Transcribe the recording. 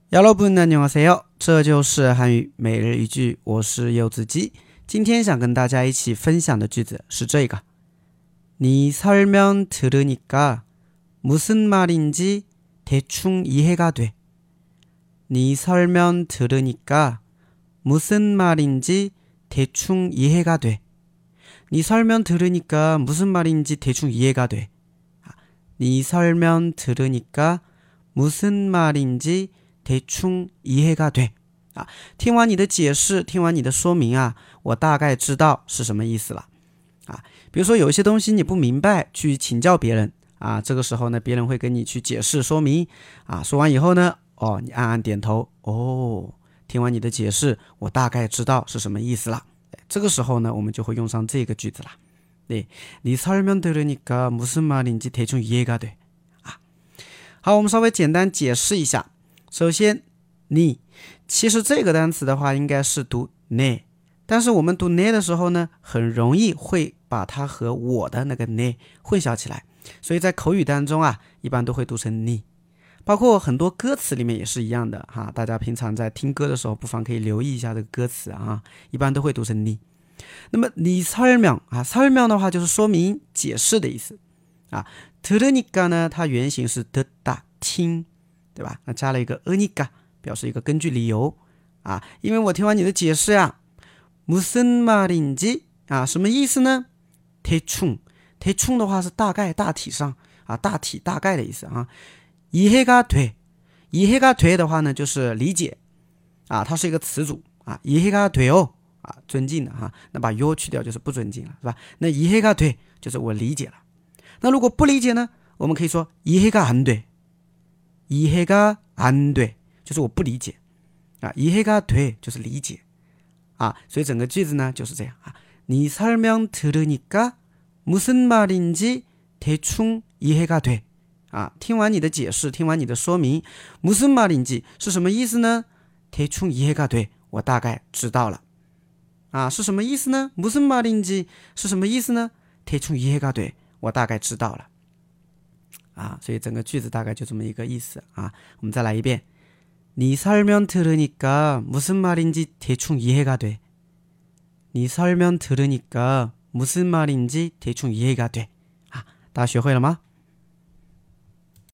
여러분 안녕하세요，这就是汉语每日一句，我是柚子鸡。今天想跟大家一起分享的句子是这个，네 설명 들으니까 무슨 말인지 대충 이해가 돼. 네 설명 들으니까 무슨 말인지 대충 이해가 돼. 네 설명 들으니까 무슨 말인지 대충 이해가 돼. 네 설명 들으니까 무슨 말인지 대충 이해가 돼。听完你的解释，听完你的说明啊，我大概知道是什么意思了。比如说有一些东西你不明白，去请教别人这个时候呢，别人会跟你去解释说明说完以后呢，你暗暗点头，听完你的解释，我大概知道是什么意思了。这个时候呢，我们就会用上这个句子了。네 설명 들으니까 무슨 말인지 대충 이해가 돼。好，我们稍微简单解释一下。首先，你其实这个单词的话应该是读 ne， 但是我们读 ne 的时候呢，很容易会把它和我的那个 ne 混淆起来，所以在口语当中一般都会读成你。包括很多歌词里面也是一样的大家平常在听歌的时候不妨可以留意一下这个歌词一般都会读成你。那么你설명 설명的话就是说明解释的意思들으니까呢，它原型是듣다听，对吧？那加了一个으니까表示一个根据理由因为我听完你的解释무슨 말인지什么意思呢？대충的话是大概大体上大体大概的意思이해가 돼的话呢就是理解它是一个词组이해가 돼요尊敬的那把요去掉就是不尊敬了，是吧？那이해가 돼就是我理解了。那如果不理解呢，我们可以说이해가 안 돼， 이해가 안 돼就是我不理解이해가 돼就是理解所以整个句子呢就是这样네 설명 들으니까 무슨 말인지 대충 이해가 돼听完你的解释，听完你的说明，무슨 말인지是什么意思呢？대충 이해가 돼我大概知道了是什么意思呢？무슨 말인지是什么意思呢？대충 이해가 돼我大概知道了所以整个句子大概就这么一个意思我们再来一遍네 설명 들으니까 무슨 말인지 대충 이해가 돼. 네 설명 들으니까 무슨 말인지 대충 이해가 돼. 大家学会了吗？